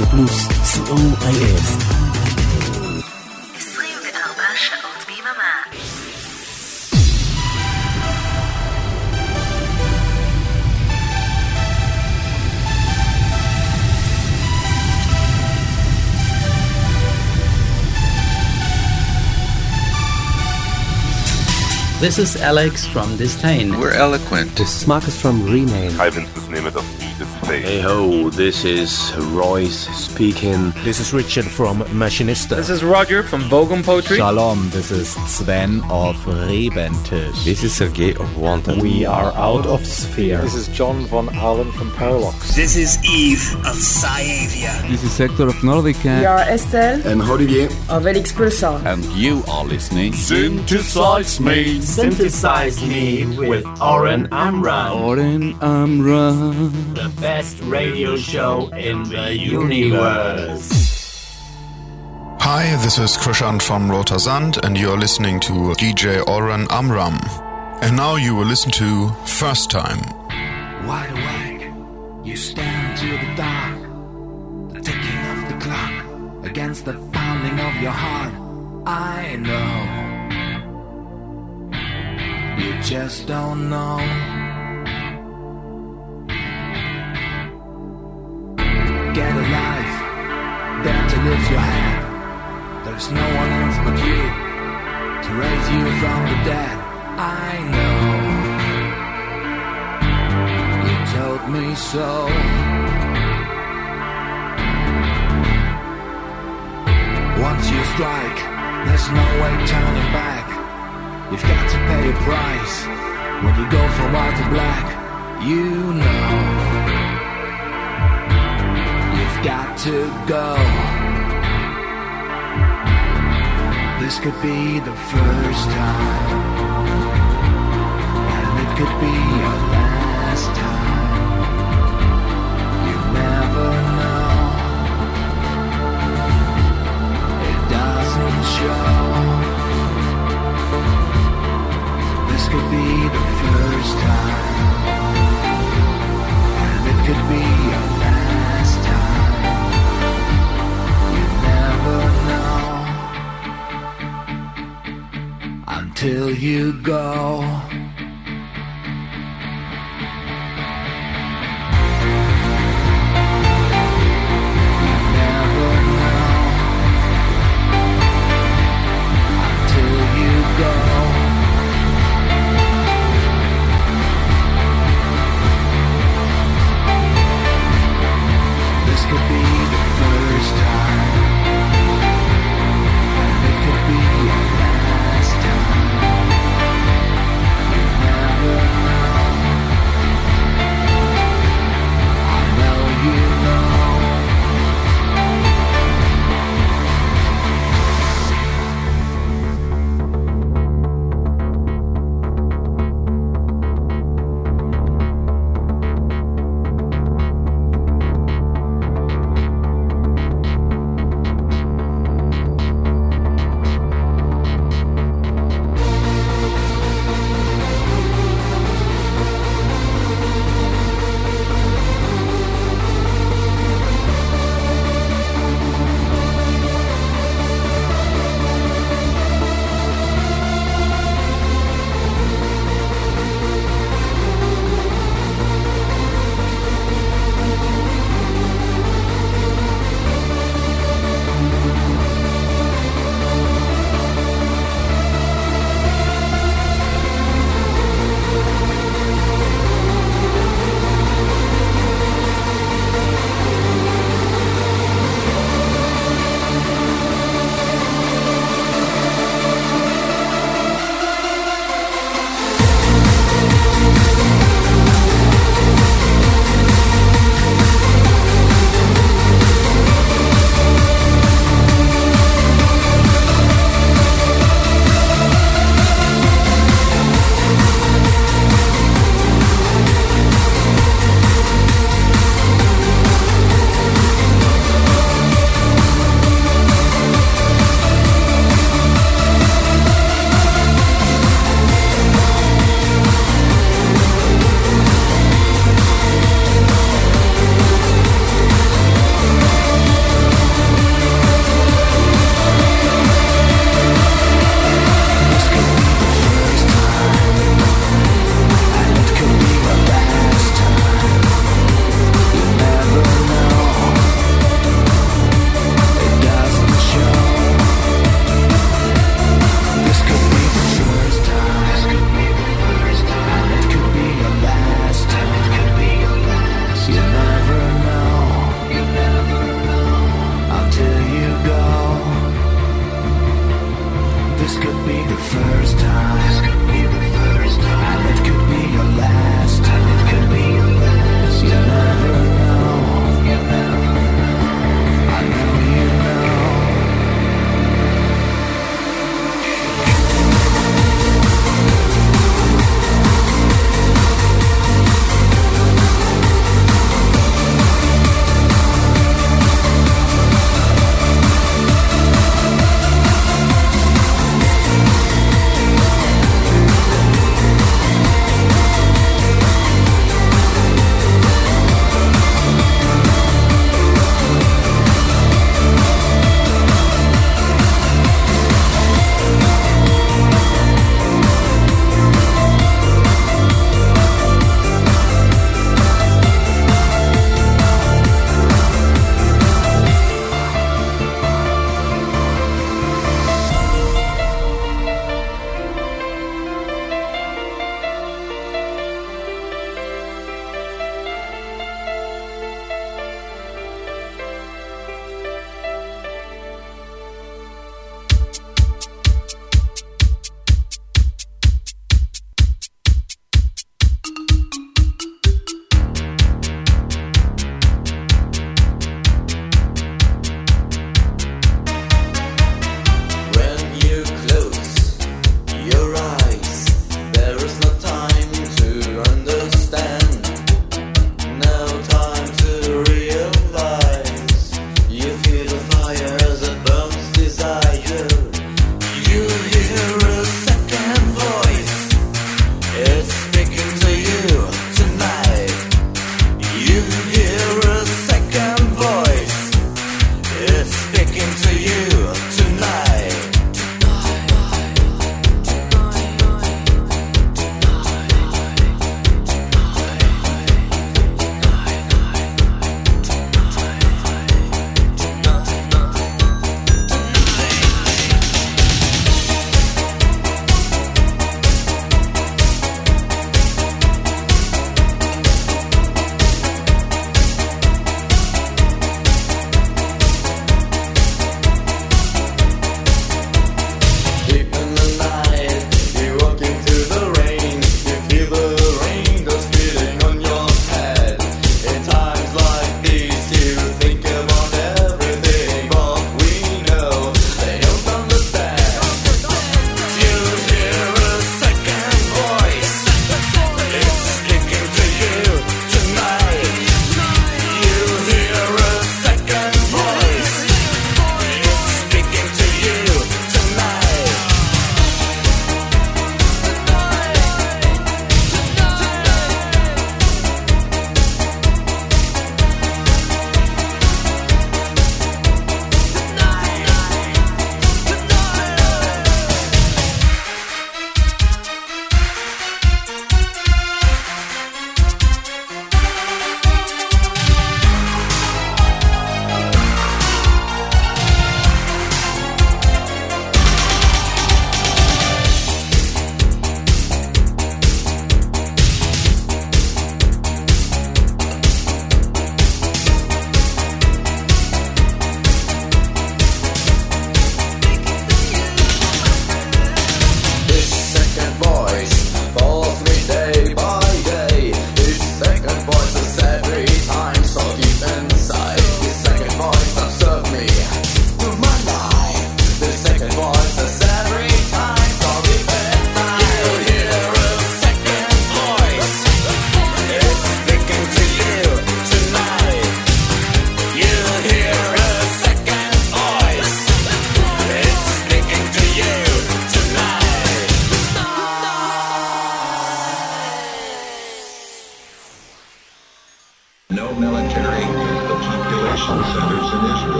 רדיו פלוס, COIF. 24 שעות ביממה. This is Alex from Disdain. We're Eloquent. This is Marcus from Rename. Hi, Vince, this is Name of the Space. Hey ho, this is Royce speaking. This is Richard from Machinista. This is Roger from Bogan Poetry. Shalom, this is Sven of Rebentisch. This is Sergei of Wanted. We are out of Sphere. This is John von Allen from Parallax. This is Eve of Sciavia. This is Sector of Nordica. We are Estelle and Olivier of Elix Pulsar. And you are listening Synthesize Me. Synthesize Me with Oren Amram. Oren Amram. The best radio show in the universe. Hi, this is Krishan from Rotersand and you're listening to DJ Oren Amram. And now you will listen to First Time. Wide awake, you stand to the dark, the ticking of the clock against the pounding of your heart. I know, you just don't know. Get a life, dare to lift your head. There's no one else but you to raise you from the dead. I know, you told me so. Once you strike, there's no way turning back. You've got to pay a price when you go from white to black. You know, you've got to go. This could be the first time, and it could be your last time. You never know. It doesn't show. This could be the first time, and it could be your last time. You never know until you go. You never know until you go. This could be the first time, and it could be your last time. You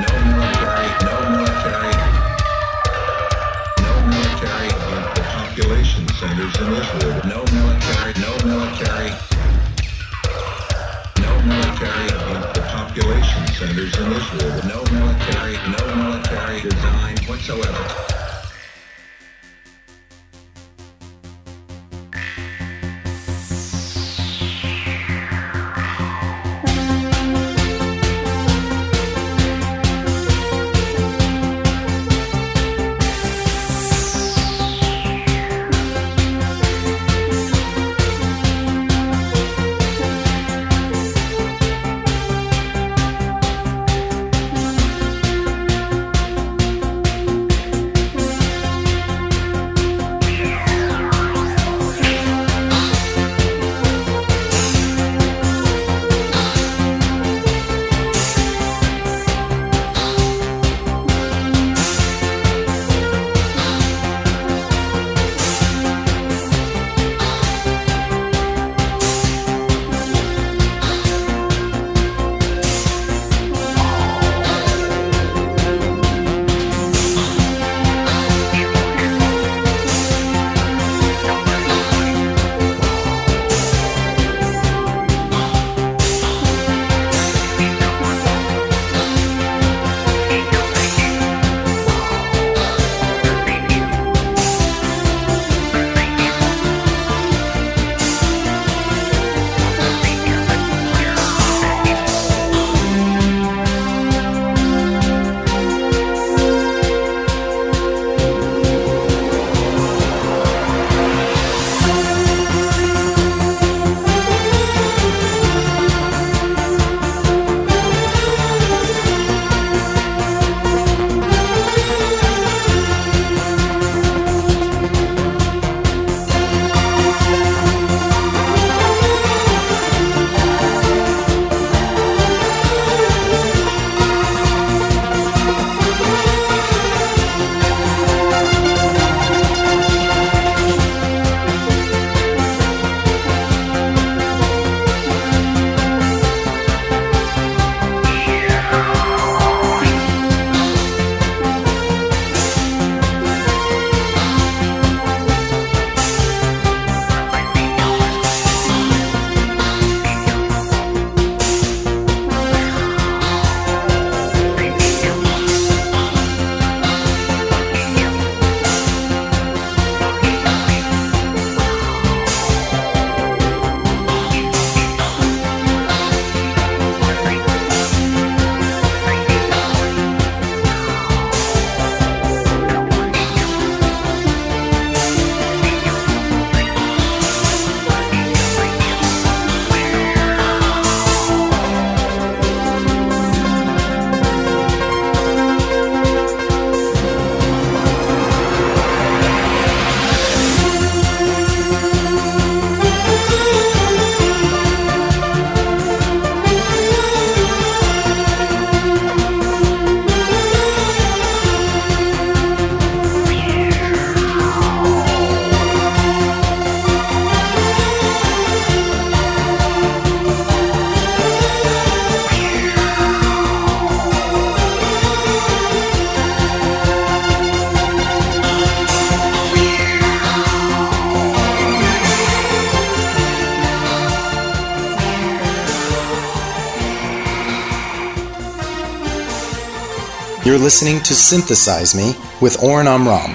You're listening to Synthesize Me with Oren Amram.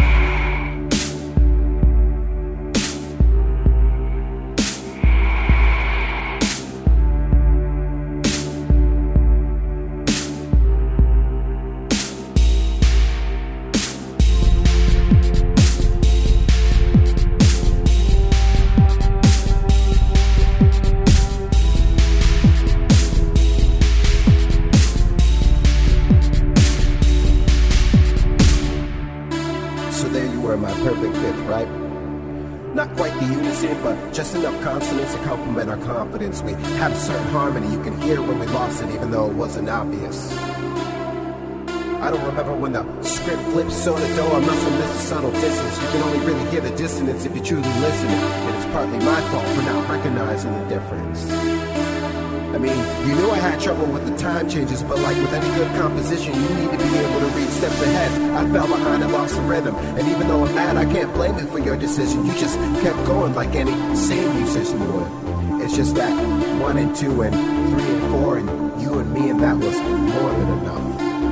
We have a certain harmony you can hear when we lost it, even though it wasn't obvious. I don't remember when the script flips so to do. I must have missed a subtle distance. You can only really hear the dissonance if you truly listen, and it's partly my fault for not recognizing the difference. I mean, you knew I had trouble with the time changes, but like with any good composition, you need to be able to read steps ahead. I fell behind and lost the rhythm, and even though I'm mad, I can't blame you for your decision. You just kept going like any sane musician would. It's just that 1 and 2 and 3 and 4 and you and me, and that was more than enough.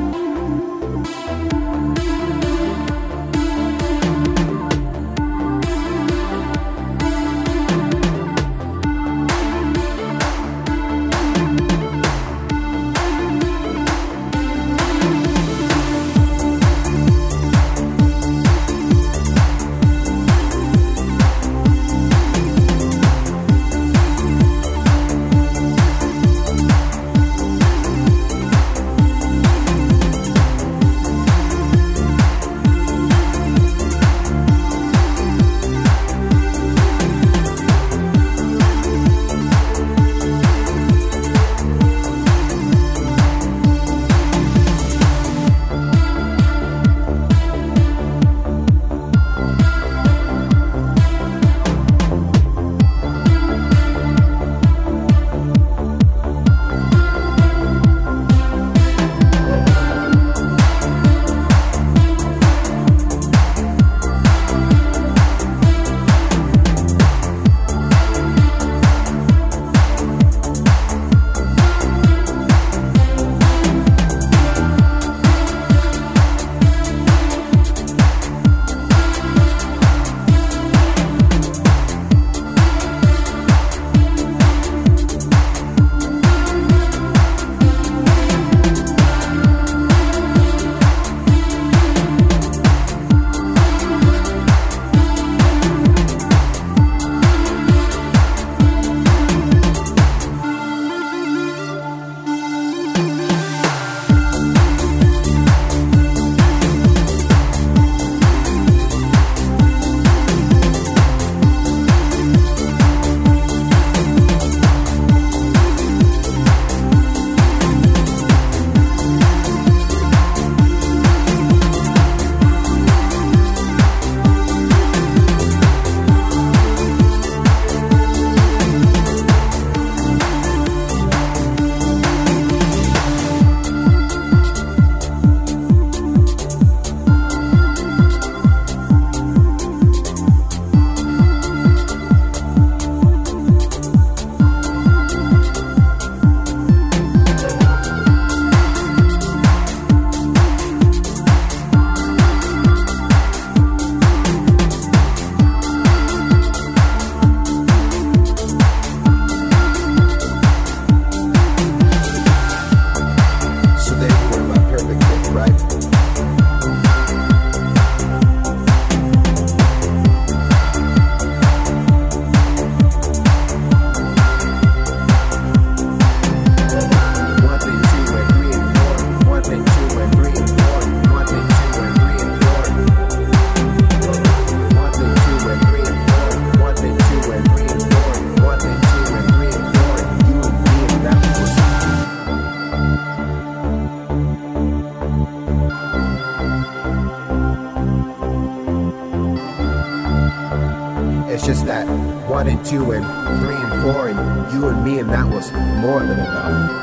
just that 1 and 2 and 3 and 4 and you and me, and that was more than enough.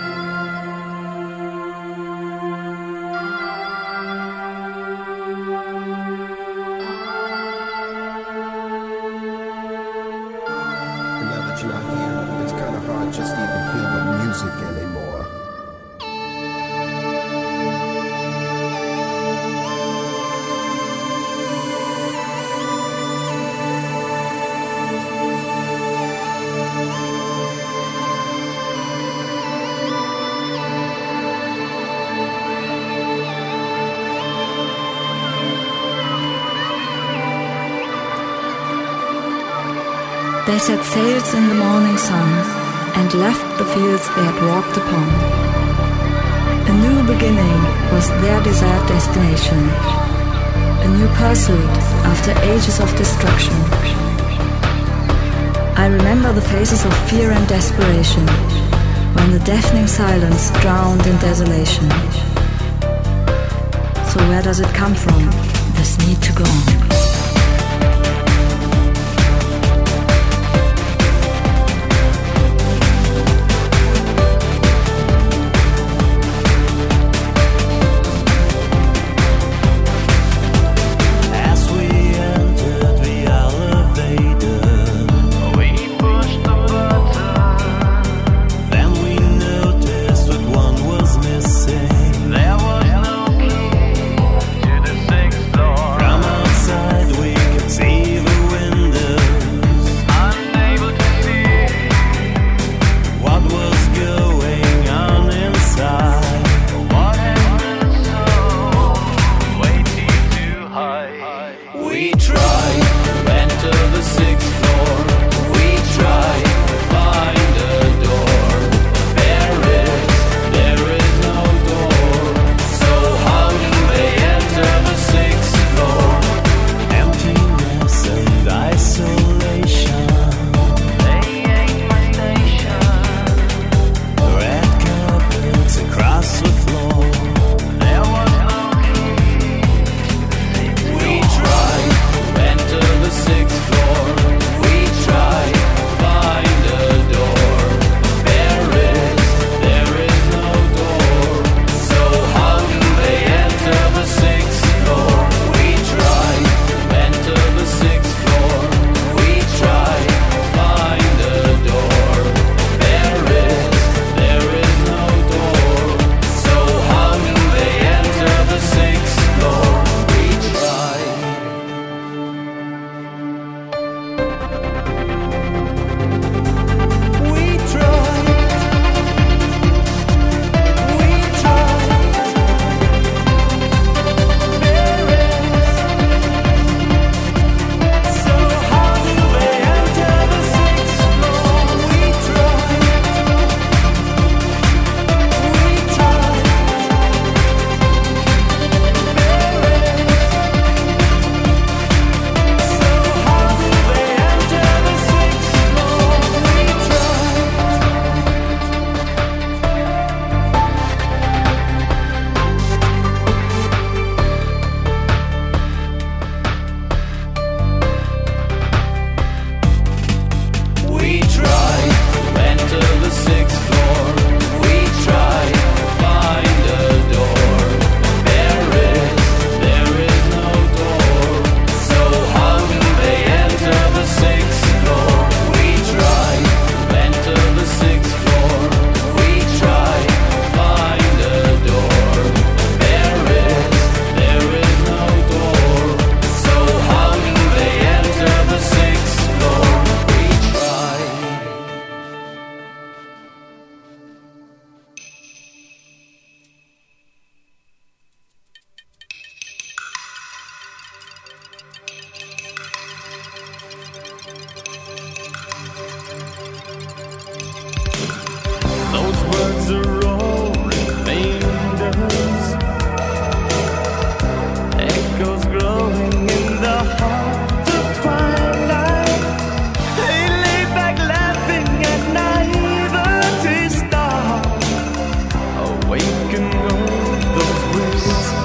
They set sails in the morning sun and left the fields they had walked upon. A new beginning was their desired destination, a new pursuit after ages of destruction. I remember the faces of fear and desperation when the deafening silence drowned in desolation. So where does it come from, this need to go on?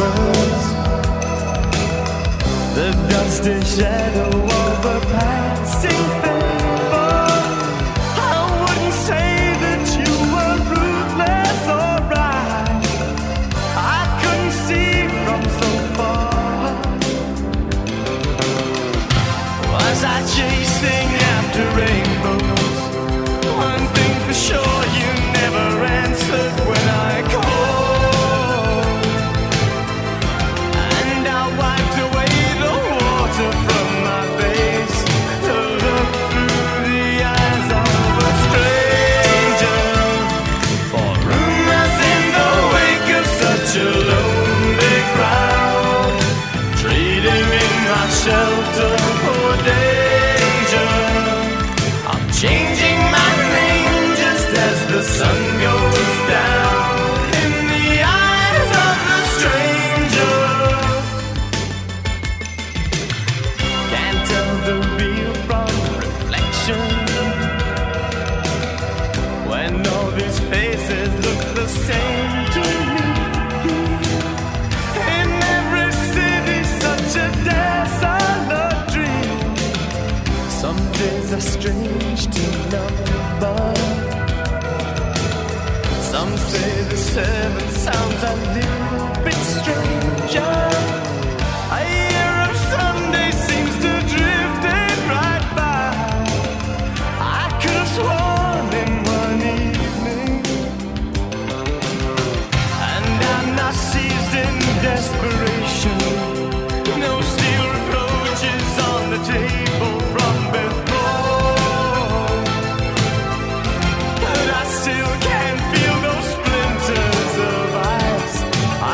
lovers. The dusty shadow of a passing favor. I wouldn't say that you were ruthless or right. I couldn't see from so far. Was I chasing after rainbows? One thing for sure, you never answered when I called. And I wiped away the water from my face to look through the eyes of a stranger. For rumors in the wake of such a lonely crowd, trading in my shelter for danger. I'm changing my name just as the sun goes down in the eyes of the stranger. Can't tell the real from reflection when all these faces look the same to me. In every city, such a desolate dream. Some days are strange to number. Some say the seven sounds a little bit stranger. A year of Sunday seems to drift it right by. I could have sworn in one evening, and I'm not seized in desperation. No steel reproaches on the table from before, but I still can't feel those splinters of ice.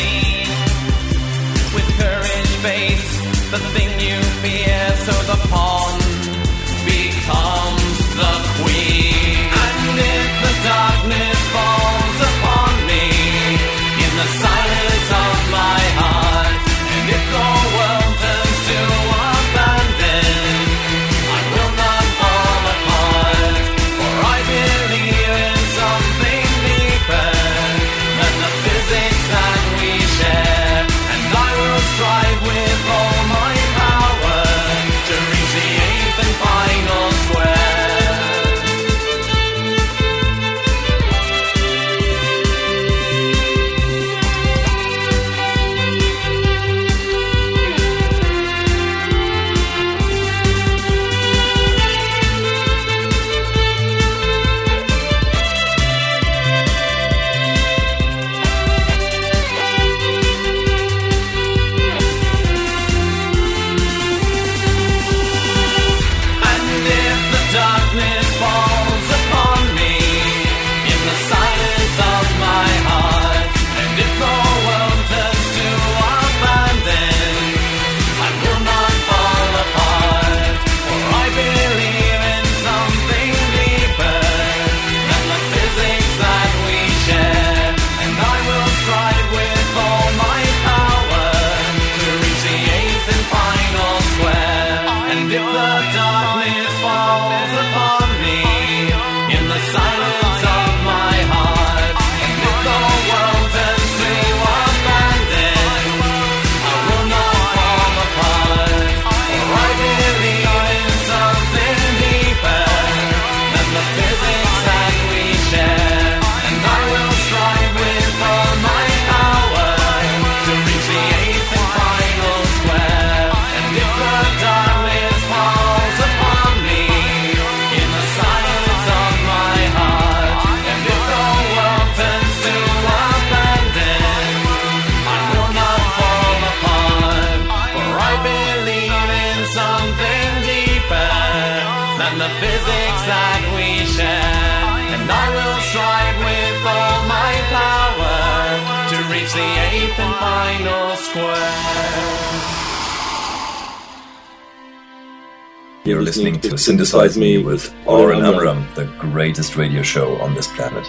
me. With courage face the thing you fear, so the pawn becomes the queen. And if the darkness falls upon me in the silence of my heart, and if the world turns to abandon, I will not fall apart, for I believe in something deeper than the physics that we share, and I will strive with all my power to reach the eighth and final square. Darkness falls upon me in the silence of my heart, and if the world turns to abandon, I will not fall apart, for I believe in something deeper than the physics that we share, and I will strive with all my power to reach the eighth and final square. And if the darkness falls upon me in the silence of my heart, and if the world turns to abandon, I will not fall apart, for I believe in something deeper than the physics that we share, and I will strive with all my power to reach the eighth and final square. And if the darkness falls upon me in the silence of my heart, and if the world turns to abandon, I will not fall apart, for I believe in something deeper than the physics that we share, and I will strive with all my power to reach the eighth and final square. You're listening to Synthesize Me with Oren Amram, the greatest radio show on this planet.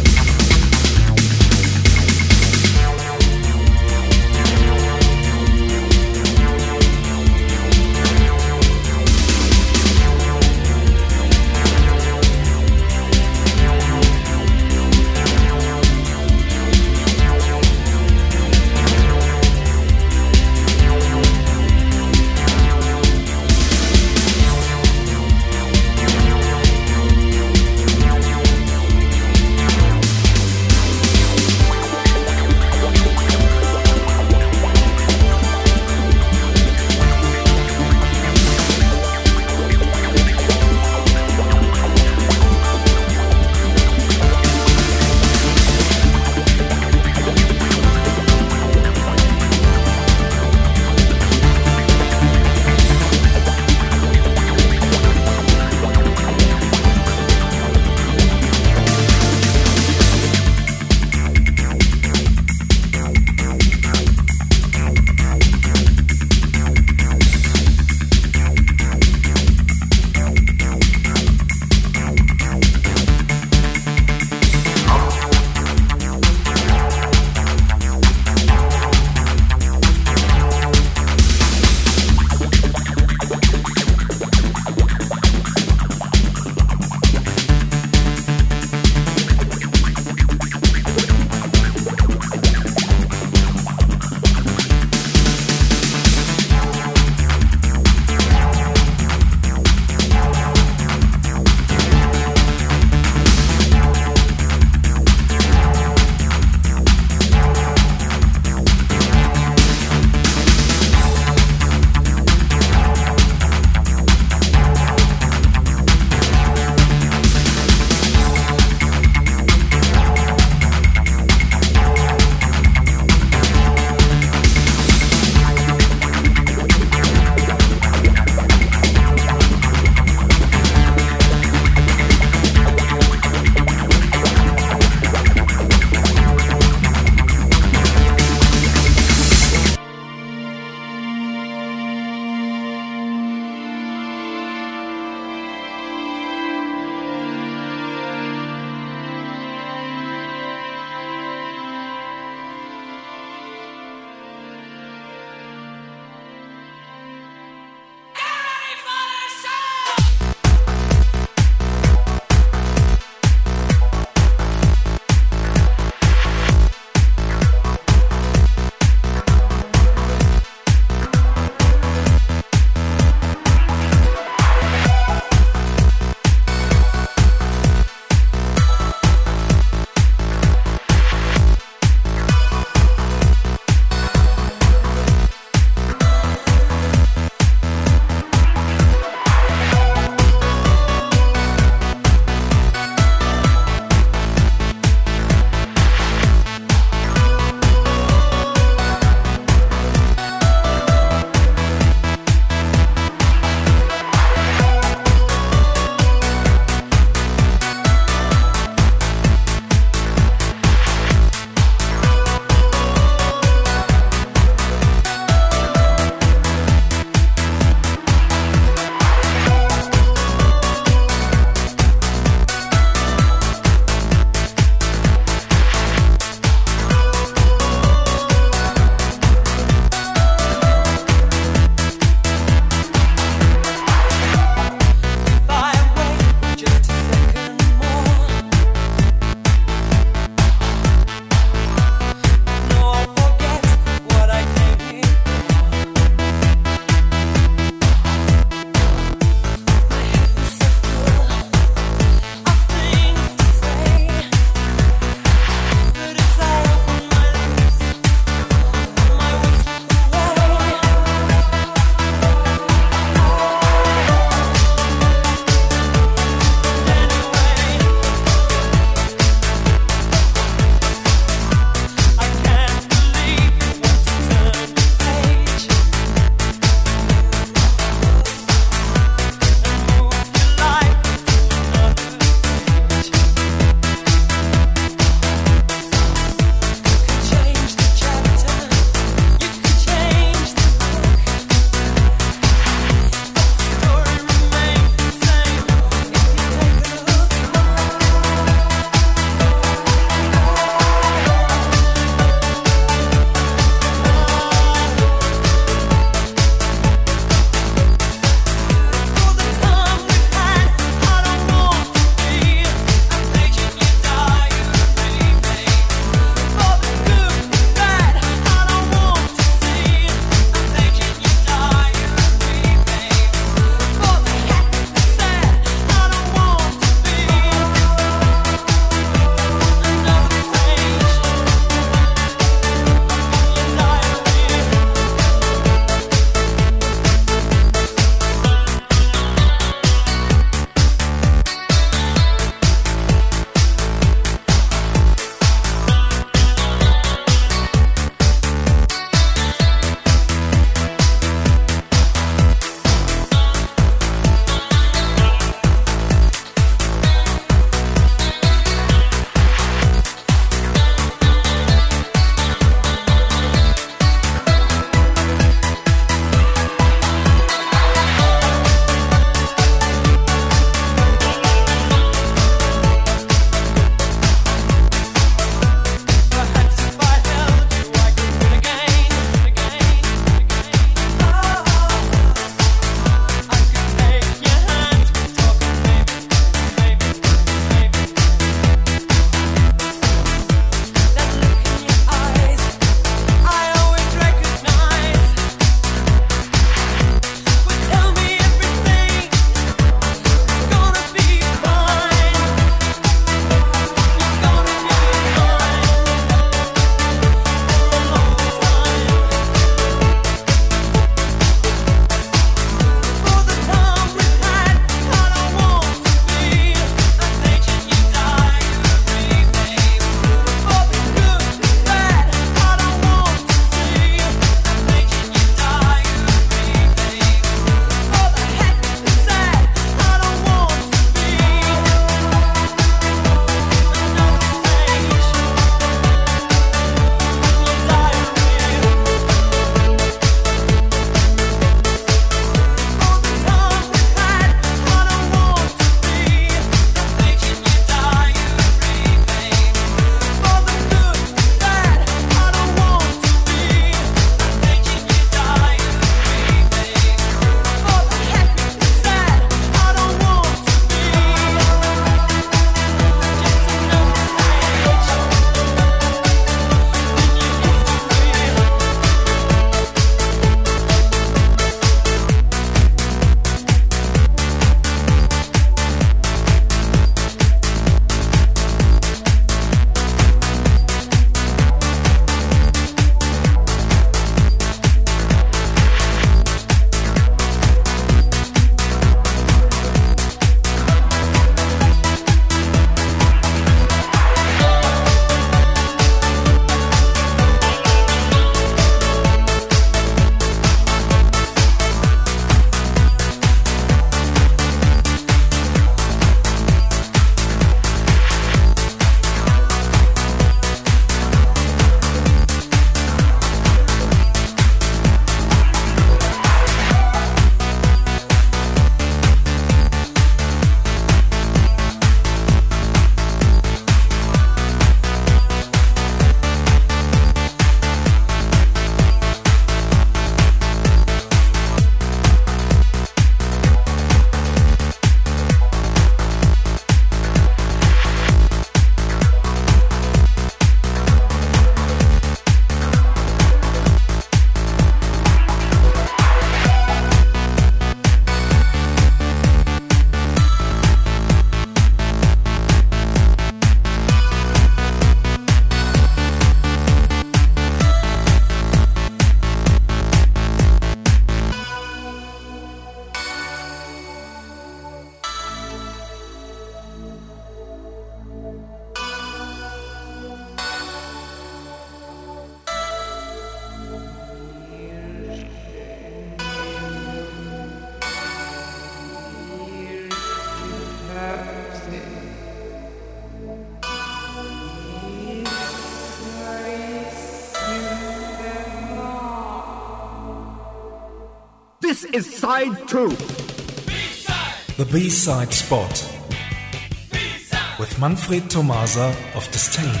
is side 2. The B-side spot. B-side. With Manfred Tomasa of Disdain.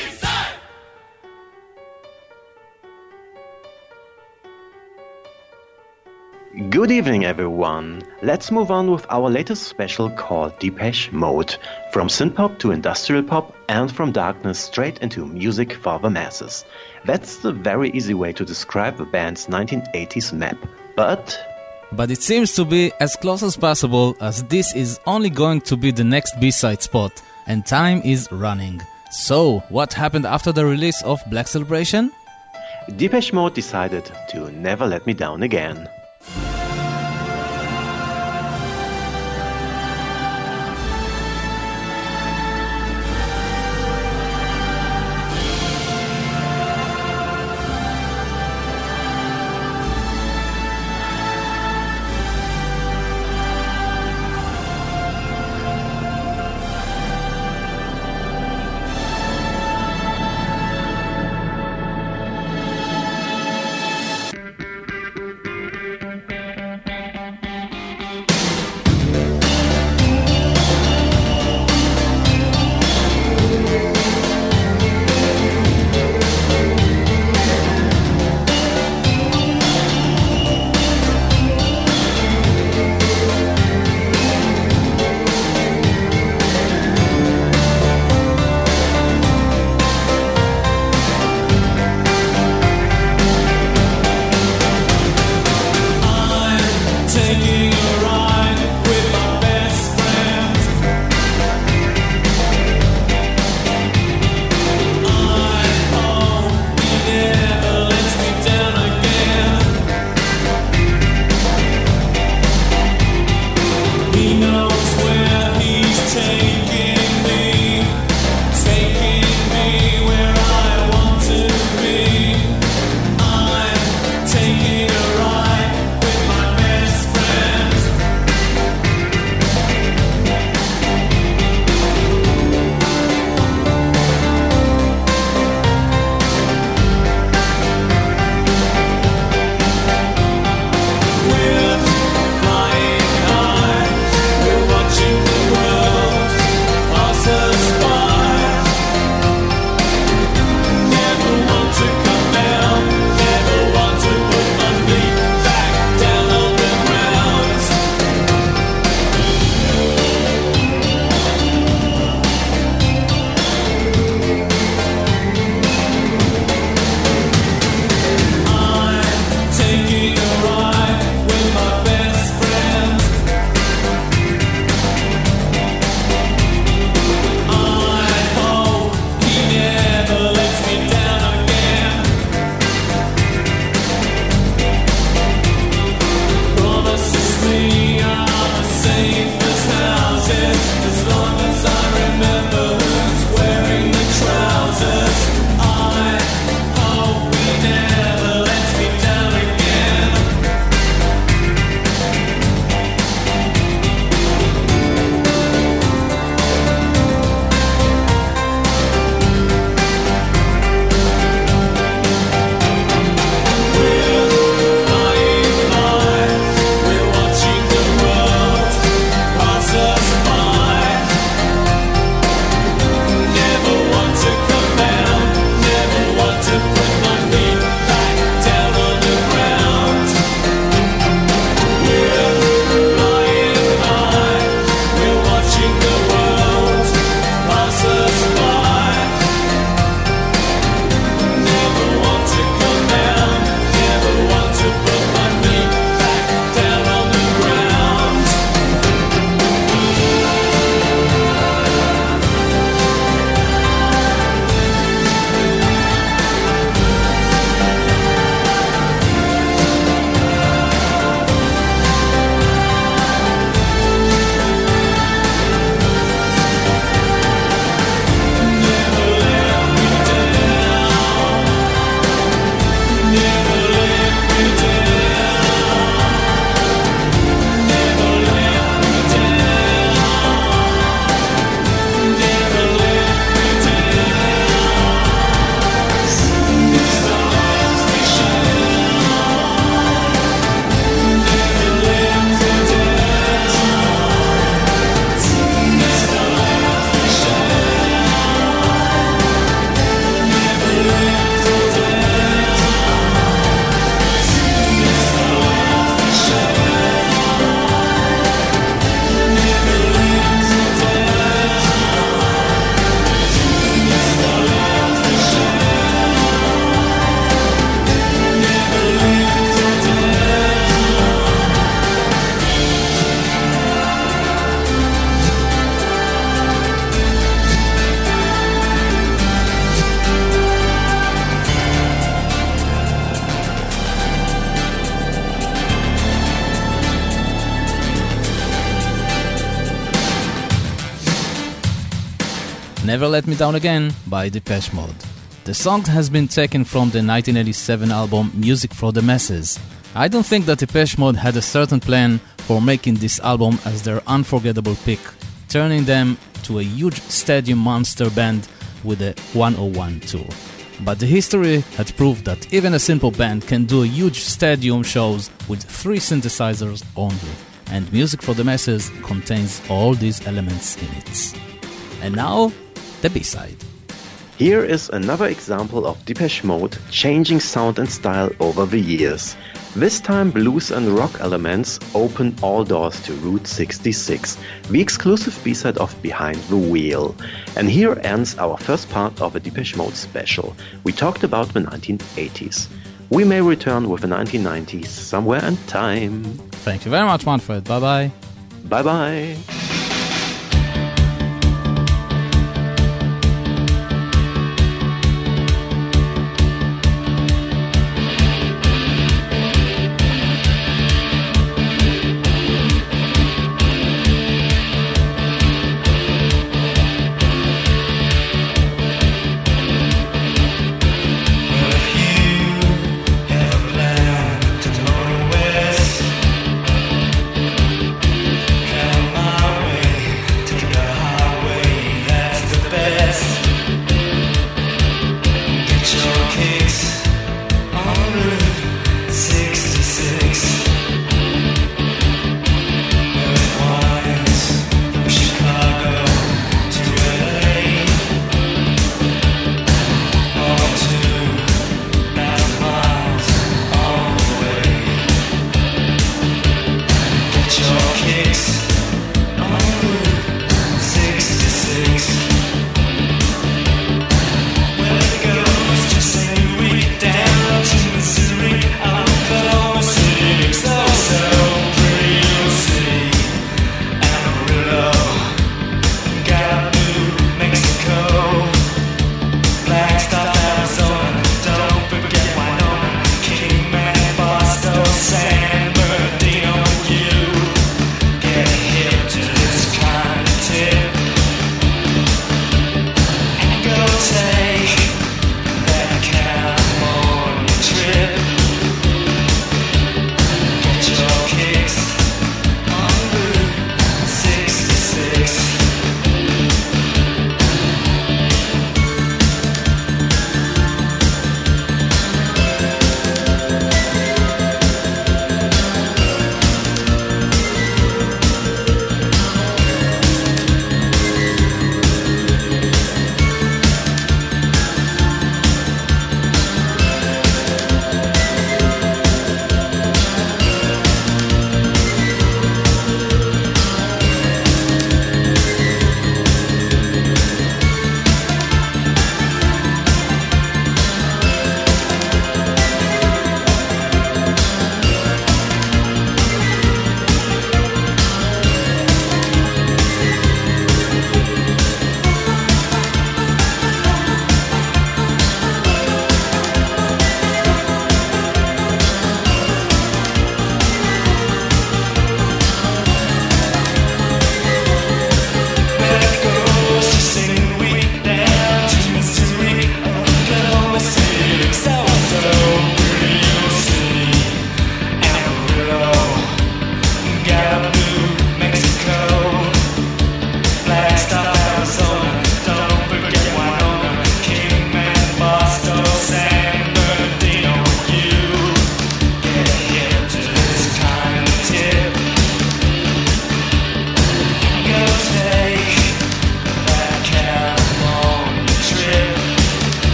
Good evening, everyone. Let's move on with our latest special called Depeche Mode. From synthpop to industrial pop and from darkness straight into music for the masses. That's the very easy way to describe the band's 1980s map. But it seems to be as close as possible, as this is only going to be the next B-side spot, and time is running. So, what happened after the release of Black Celebration? Depeche Mode decided to never let me down again. Never Let Me Down Again by Depeche Mode. The song has been taken from the 1987 album Music for the Masses. I don't think that Depeche Mode had a certain plan for making this album as their unforgettable pick, turning them to a huge stadium monster band with a 101 tour. But the history had proved that even a simple band can do huge stadium shows with 3 synthesizers only, and Music for the Masses contains all these elements in it. And now, the B-side. Here is another example of Depeche Mode changing sound and style over the years. This time blues and rock elements open all doors to Route 66, the exclusive B-side of Behind the Wheel. And here ends our first part of a Depeche Mode special. We talked about the 1980s. We may return with the 1990s somewhere in time. Thank you very much, Manfred. Bye-bye. Bye-bye.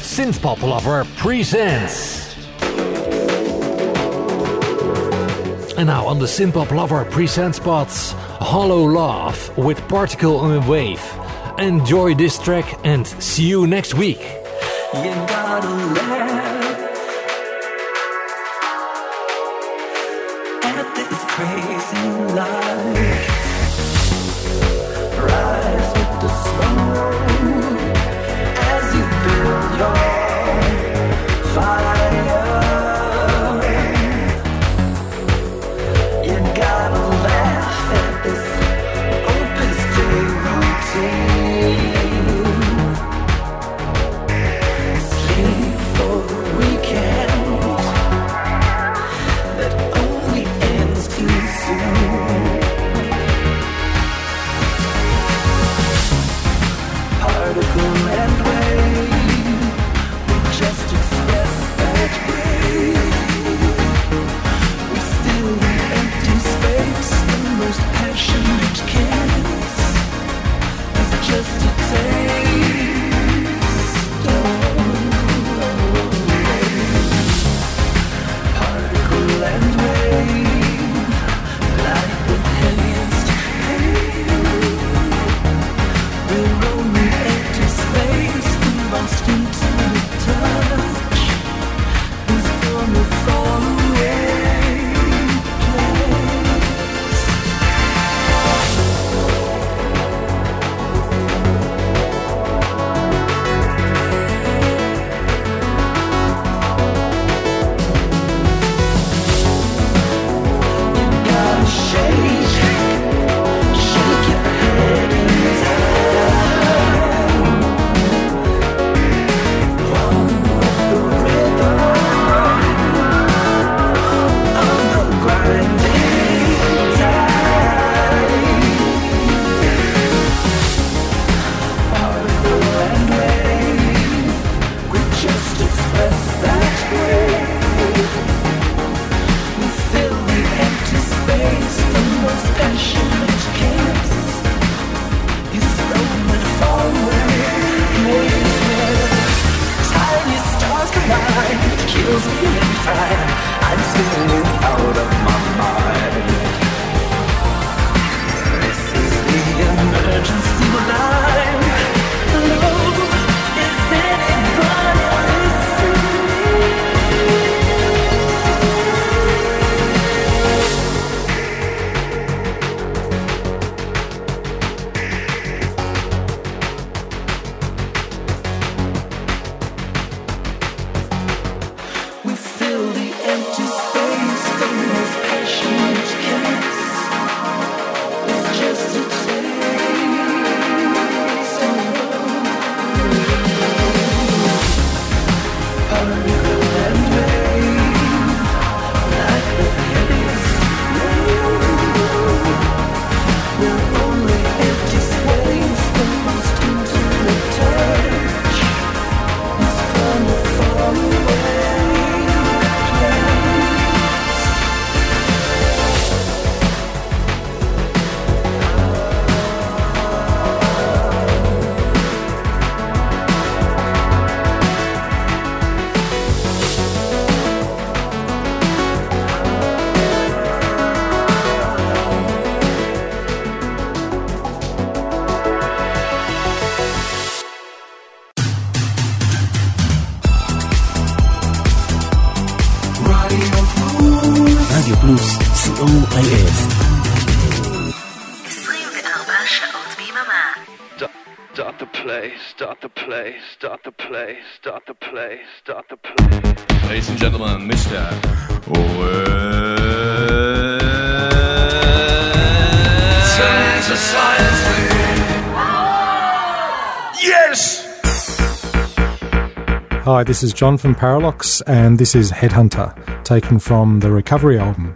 Synthpop Lover presents And now on the Synthpop Lover present spots, Hollow Love with Particle and Wave. Enjoy this track and see you next week. You gotta laugh at this crazy life. Rise with the smoke as you build your fire. You gotta laugh at this open stay routine. רדיו פלוס, COIS. 24 שעות ביממה. Start the play, start the play, start the play, start the play, start the play. Ladies and gentlemen, Mr. Synthesize me. Yes! Hi, this is John from Parallax, and this is Headhunter, taken from the Recovery album.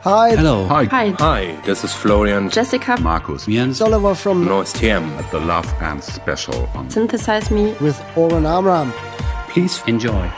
Hi. Hello. Hi. Hi. Hi, this is Florian. Jessica. Markus. Jens. Oliver from North TM at the Love Band special on Synthesize Me with Oren Amram. Please enjoy.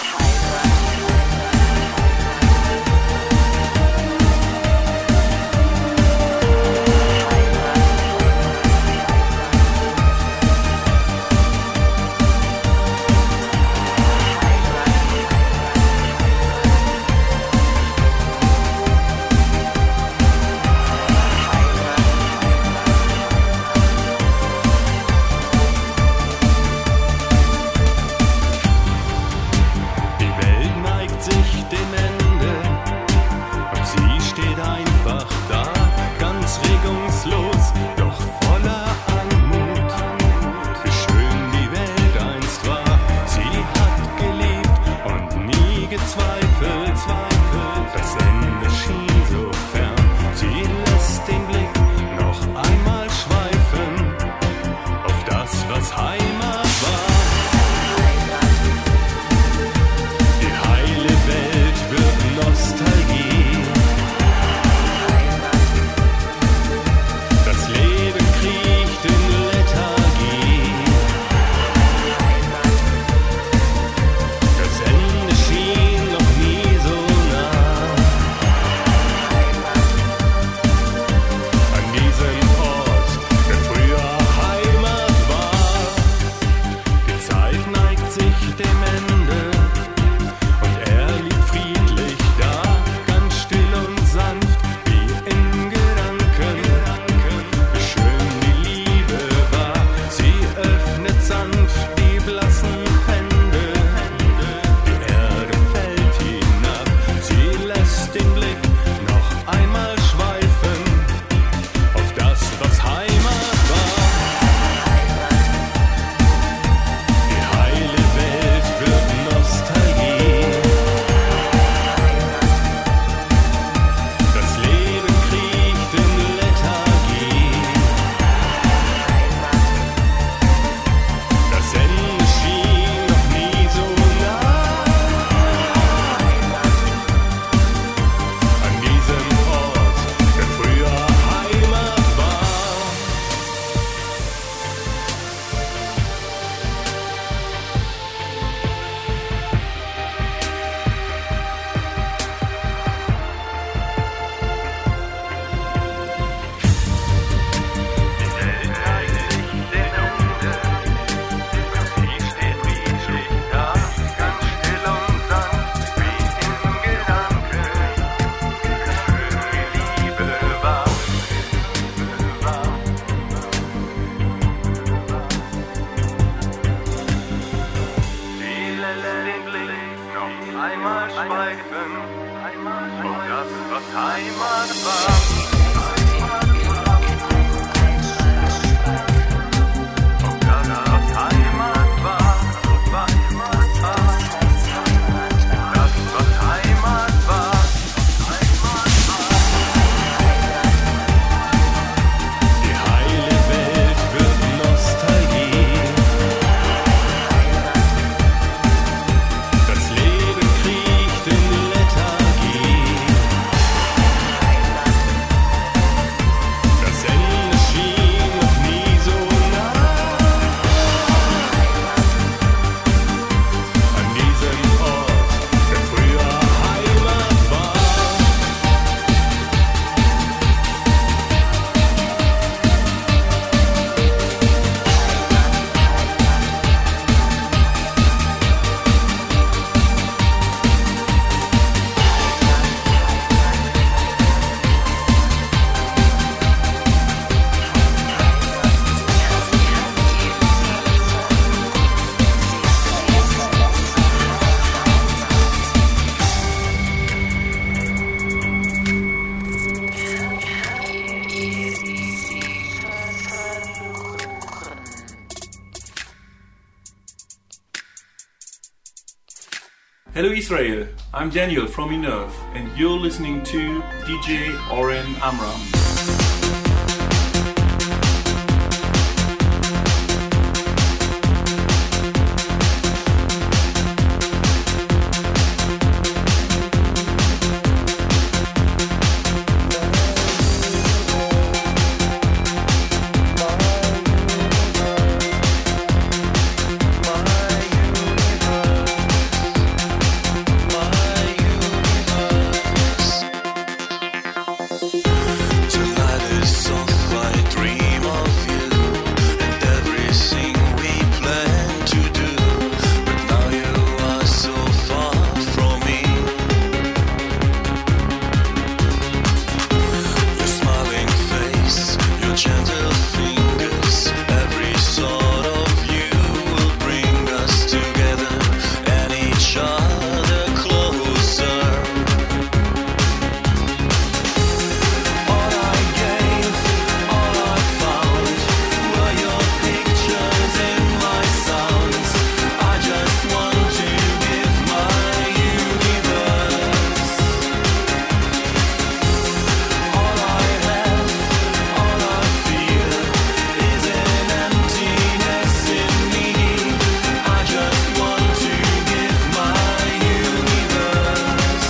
Hello Israel, I'm Daniel from Minerve and you're listening to DJ Oren Amram. gentle fingers, every sort of you will bring us together and each other closer. All I gave, all I found were your pictures in my sounds. I just want to give my universe. All I have, all I feel is an emptiness in me. I just want to give my universe.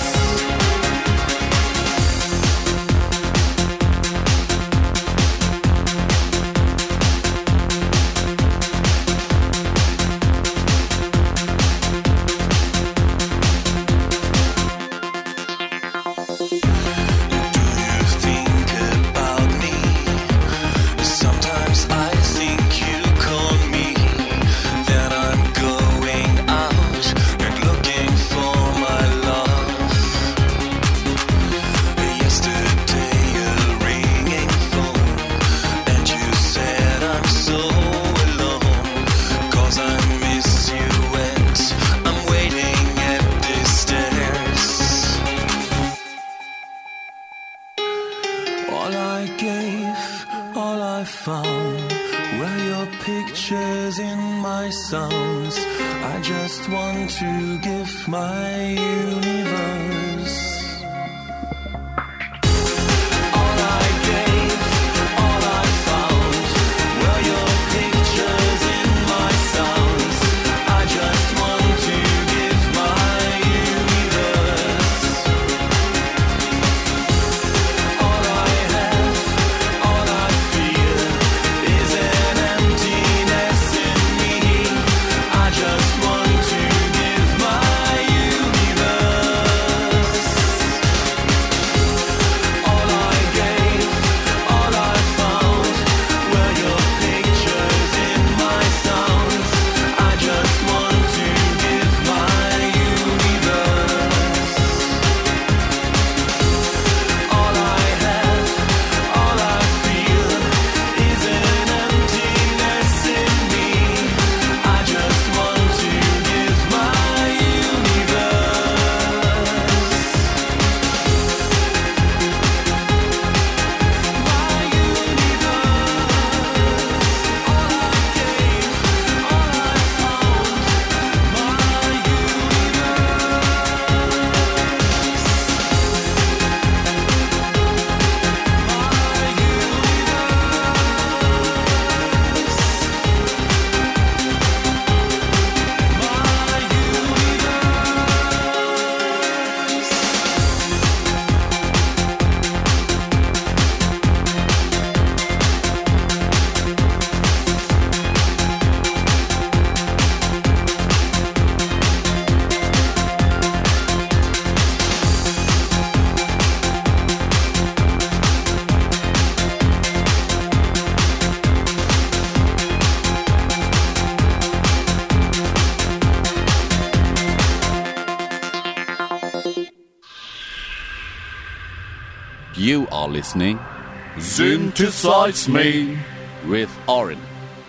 Do you think about me? Sometimes I think you call me. Then I'm going out and looking for my love. Yesterday a ringing phone, and you said I'm so alone. 'Cause I miss you and I'm waiting at the stairs. All I gave, all I found were your pictures in my sounds. I just want to give my universe. All I gave, all I found were your pictures in my sounds. I just want to give my universe. All I have, all I feel is an emptiness in me. I just want to give my universe. All I gave, all I found were your pictures in my sounds. I just want to give my universe. All I have, all I feel is an emptiness in me. I just want to give my universe. My universe. All I gave, all I found. My You are listening Synthesize Me with Oren.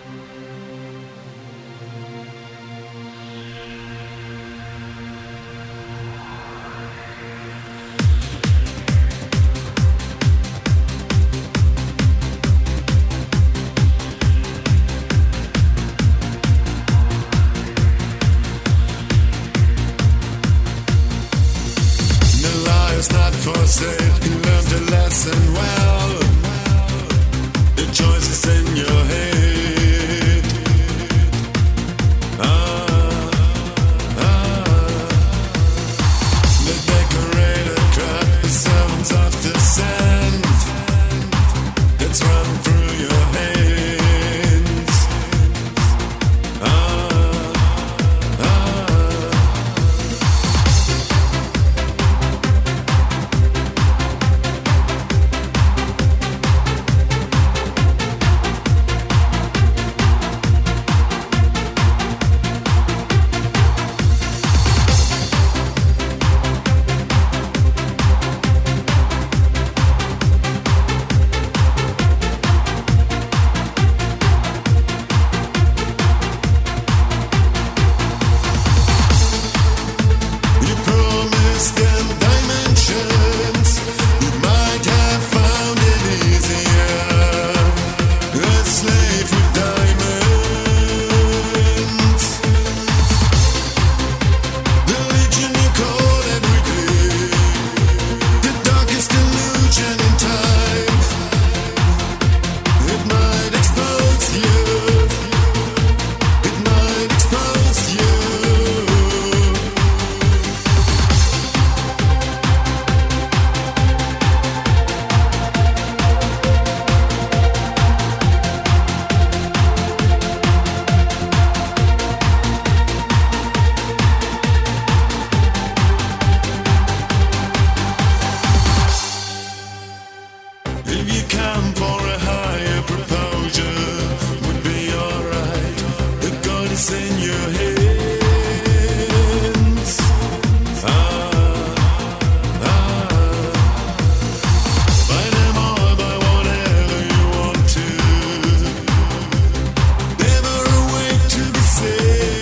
The lie is not for sale. You learned a lesson well. The choice is in your head. if you can for a higher proposal, would be alright. The God is in your hands. Buy them all, buy whatever you want to. Never awake to be safe.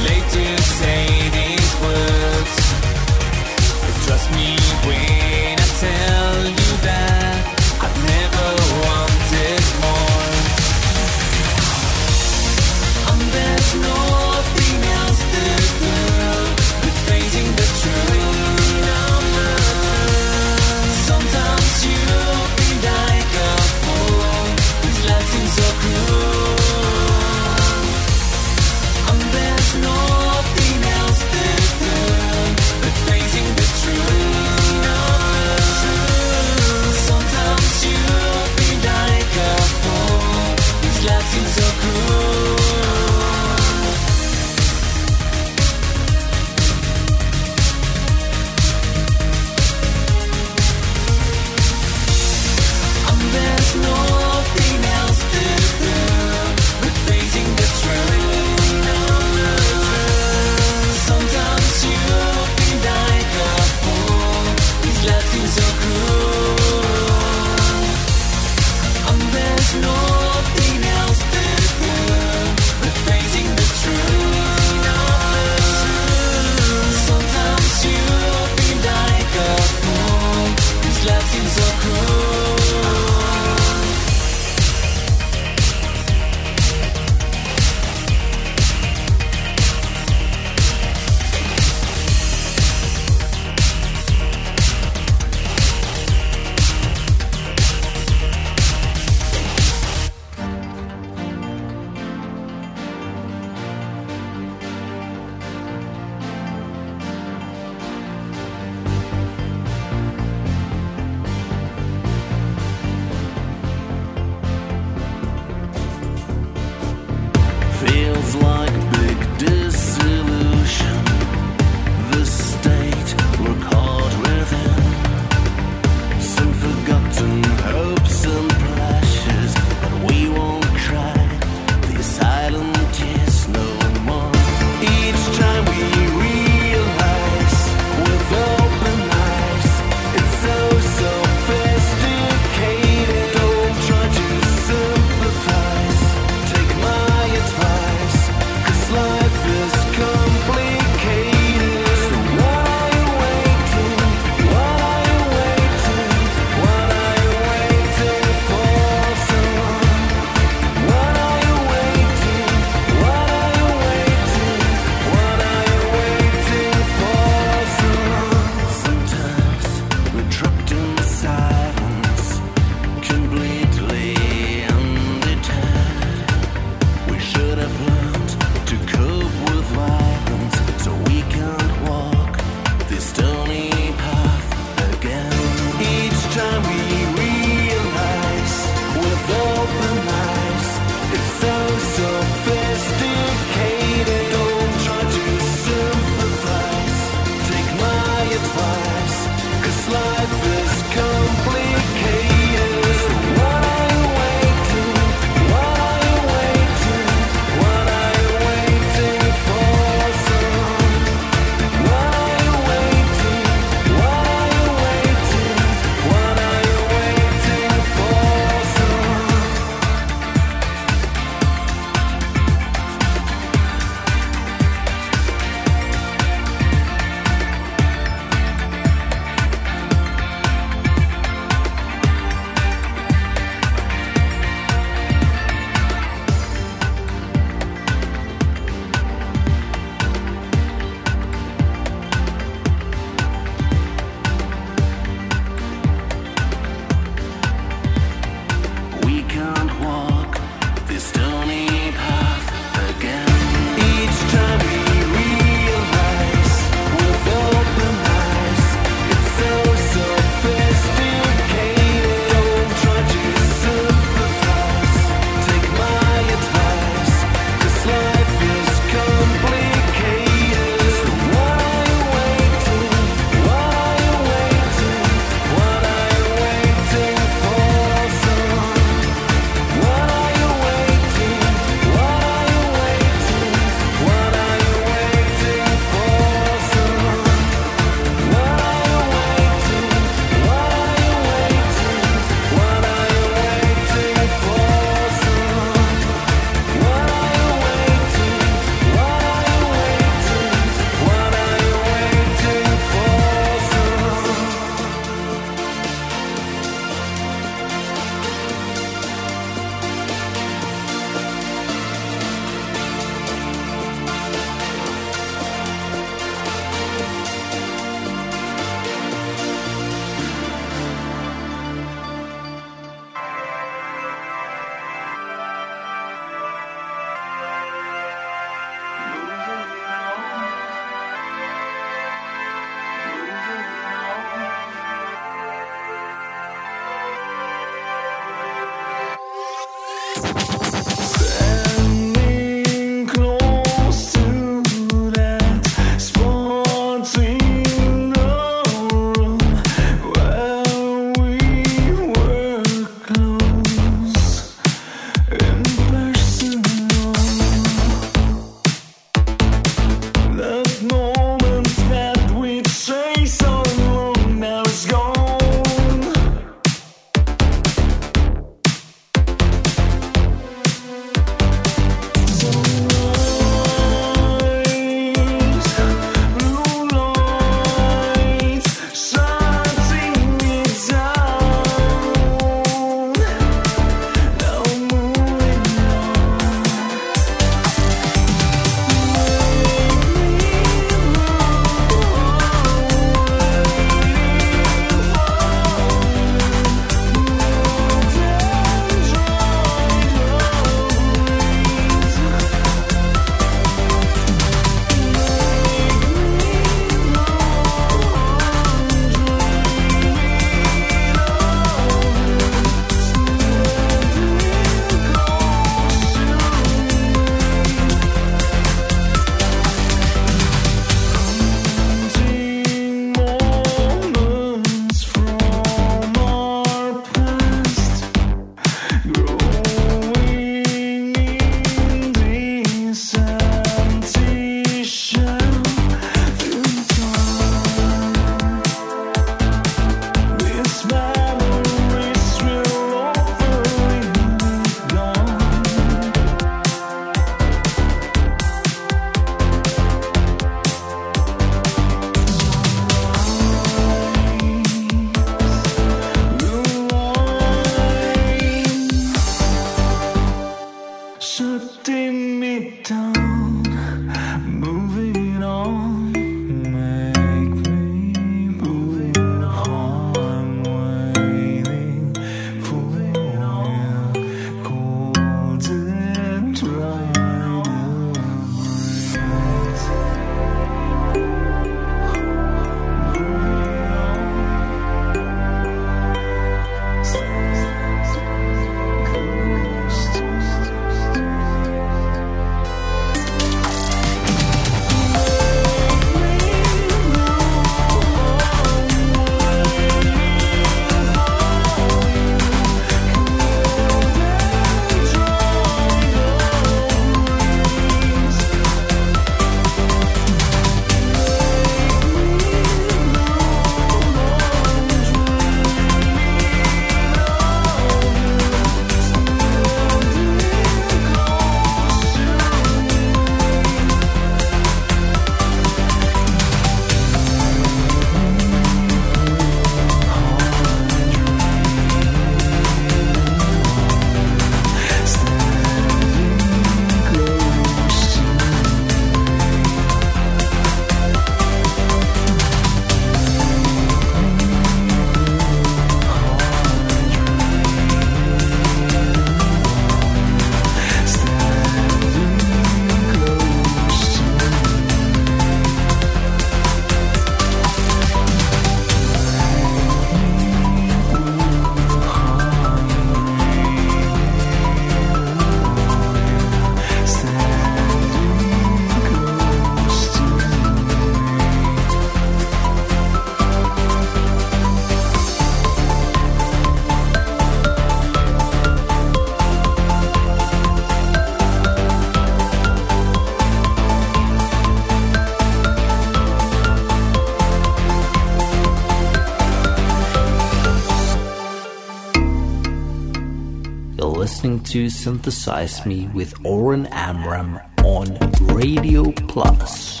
listening to Synthesize Me with Oren Amram on Radio Plus.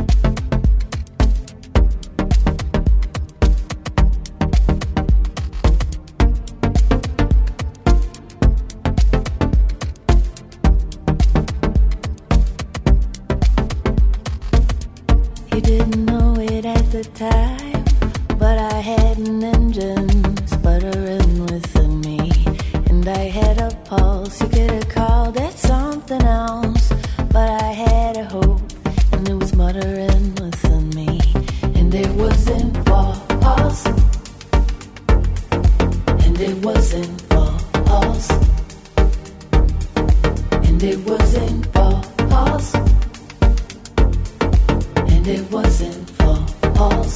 You didn't know it at the time, but I had an engine sputtering within me, and I had a pulse. You could have called it something else, but I had a hope, and it was muttering within me, and it wasn't false, and it wasn't false, and it wasn't false, and it wasn't false.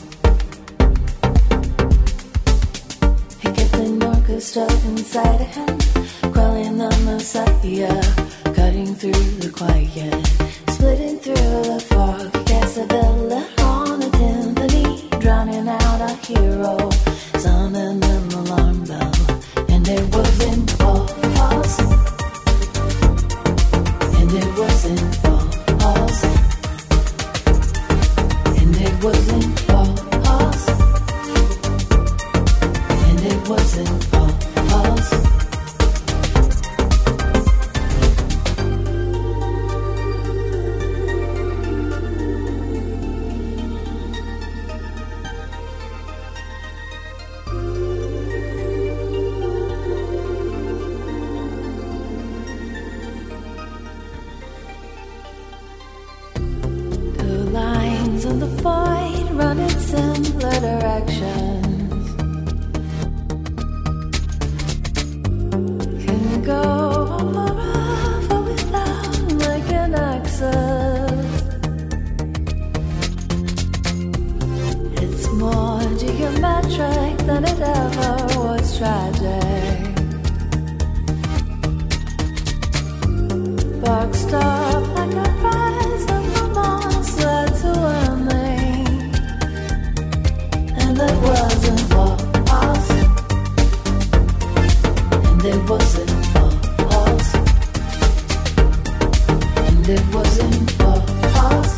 He kept an orchestra inside of him, quelling the Messiah, cutting through the quiet, splitting through the fog. Casabella on a timpani, drowning out a hero, sounding an alarm bell, and it wasn't false, and it wasn't false, and it wasn't false, and it wasn't false. The lines on the void run in similar directions, can go on forever without like an axis. It's more geometric than it ever was tragic. Boxed up like a rise of a monster to a me, and it wasn't false, and it wasn't false, and it wasn't false,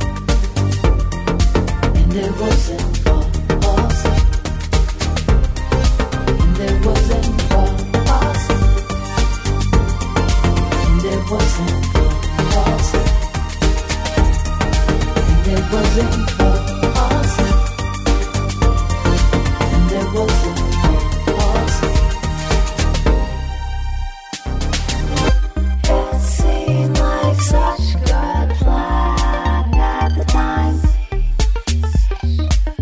and it wasn't false, and it wasn't false, and it wasn't false, and it wasn't false, and it wasn't false. It seemed like such good plan at the time.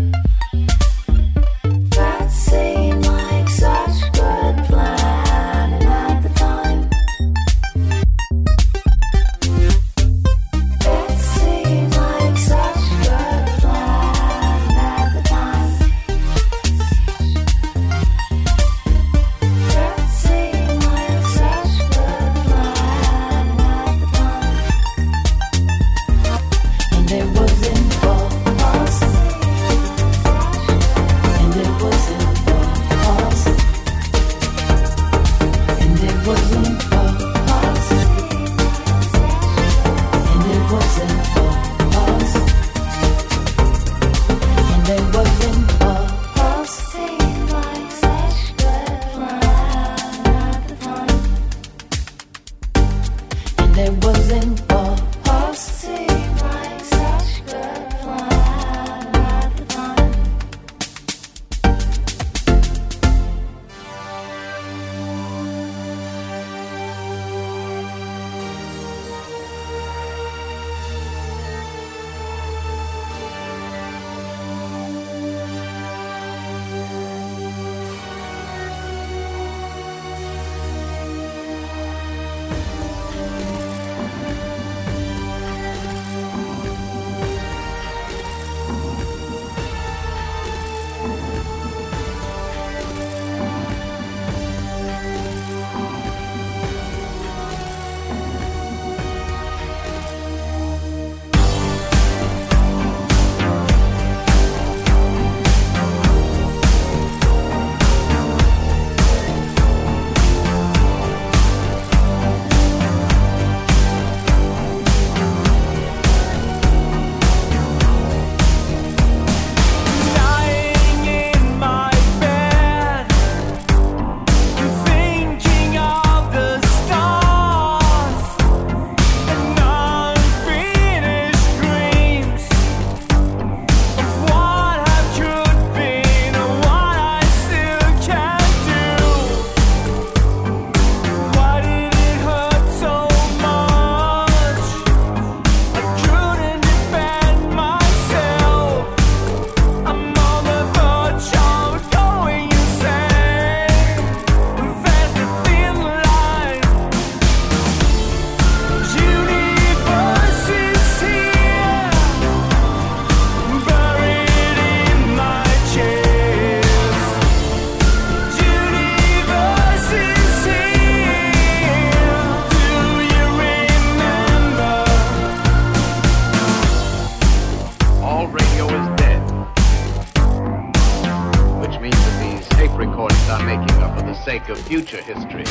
sake of future history.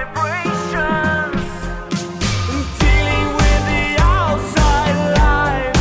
Dealing with the outside life.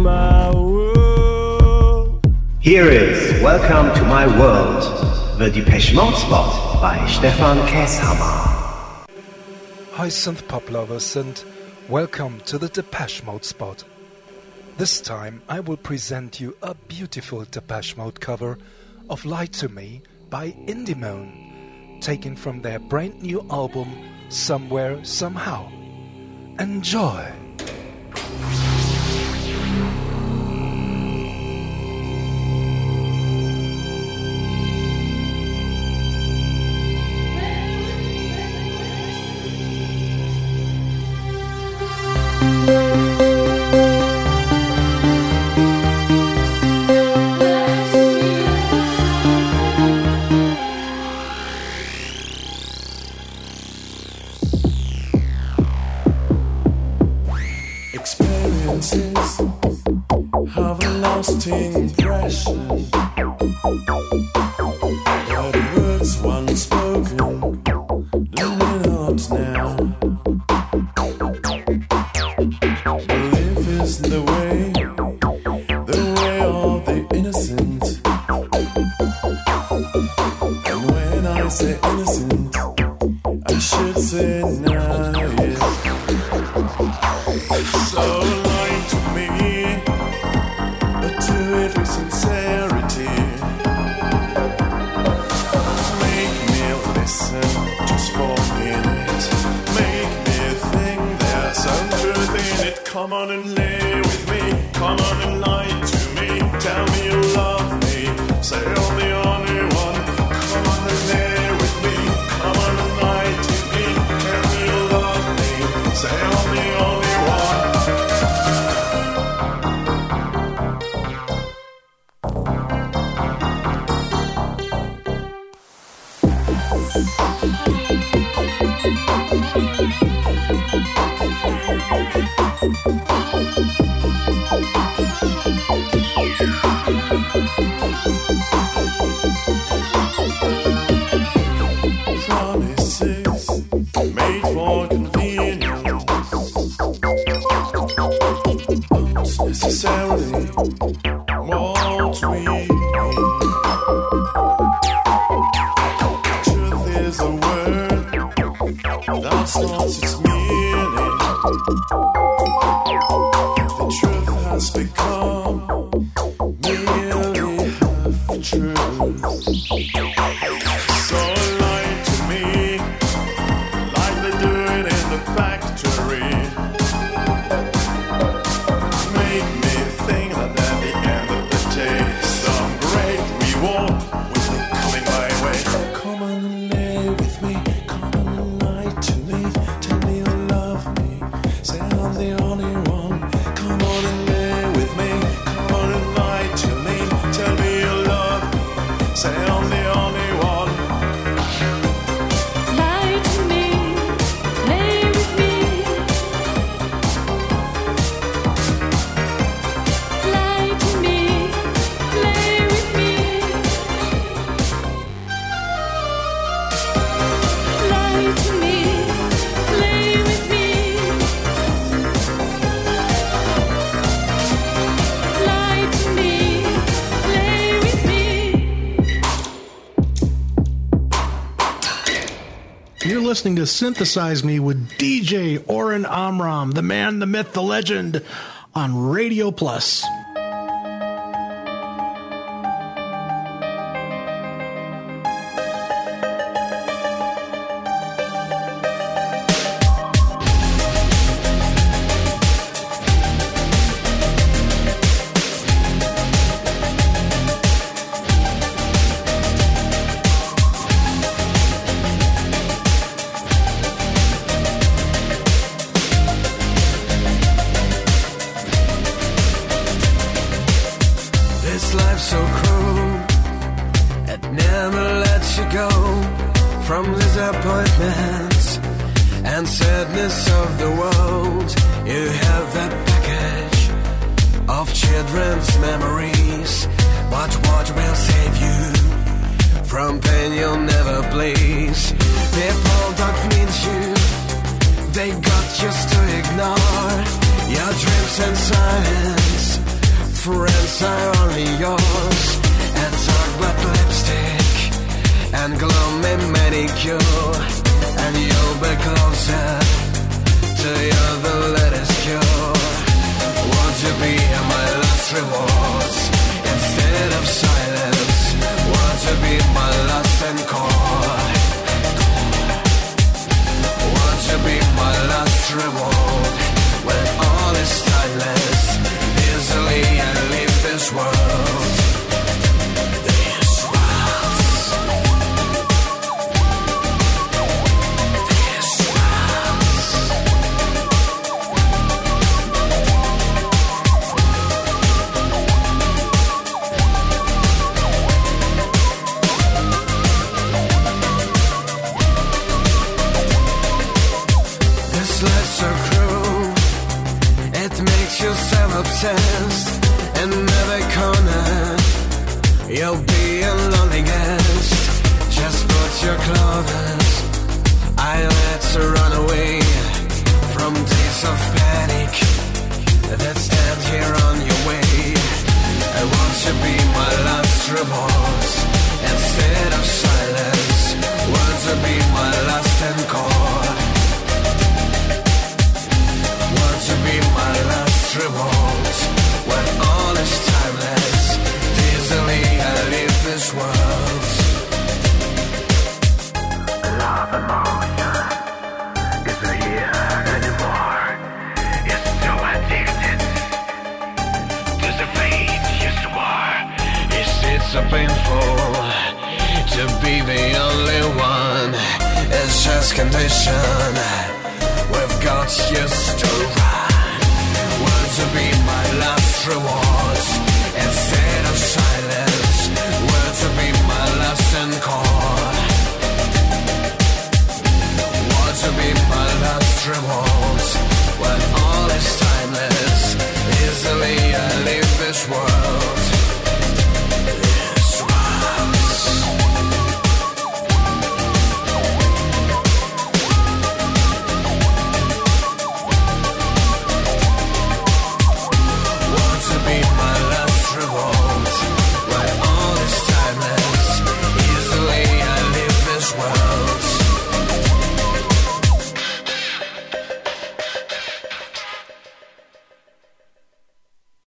my world. Here is Welcome to My World, the Depeche Mode spot by Stefan Käshammer. Hi synth pop lovers and welcome to the Depeche Mode spot. This time I will present you a beautiful Depeche Mode cover of Lie to Me by Indimone, taken from their brand new album Somewhere Somehow. Enjoy! Experiences have a lasting impression, but words once spoken linger out now. Belief is the way of the innocent, and when I say innocent, I should say naive. So lie to me, but do it with sincerity. Make me listen just for a minute. Make me think there's some truth in it. Come on and lay with me. Come on and lie to me. Tell me you love me. Say you're the only one. Come on and lay with me. Come on and lie to me. Tell me you love me. Say you're the only one. Promises made for convenience aren't necessarily what we need. Truth is a word that's lost its meaning. The truth has become merely half truth. So lie to me like they do it in the factory. Make me think that at the end of the day, some great reward will be coming my way. Come on and lay with me. Come on and lie to me. Tell me you love me. Say I'm the only one. Come on and lay with me. Come on and lie to me. Tell me you love me. Say I'm the only one. Lie to me, lay with me. Lie to me, lay with me. Lie to me, lay with me. Lie to me, lay with me. You're listening to Synthesize Me with DJ Oren Amram, the man, the myth, the legend, on Radio Plus. This life's so cruel, it never lets you go from disappointments and sadness of the world. You have that package of children's memories, but what will save you from pain you'll never please? People don't need you, they got used to ignore your dreams and silence. friends are only yours, and talk but lipstick and gloomy manicure, and you'll be closer to your the latest cure. Won't you be my last rewards instead of silence? Won't you be my last encore? Won't you be my last reward when all is timeless? Easily I leave this world. Obsessed in every corner, you'll be a lonely guest. Just put your clothes, eyelids run away from days of panic that stand here on your way. And won't you be my last remorse instead of silence? Won't you be my last encore? Won't you be my last reward when all is timeless? Easily I leave this world. Love emotion isn't here anymore. It's so addicted to the fate you swore. Is it so painful to be the only one? It's just condition we've got used to.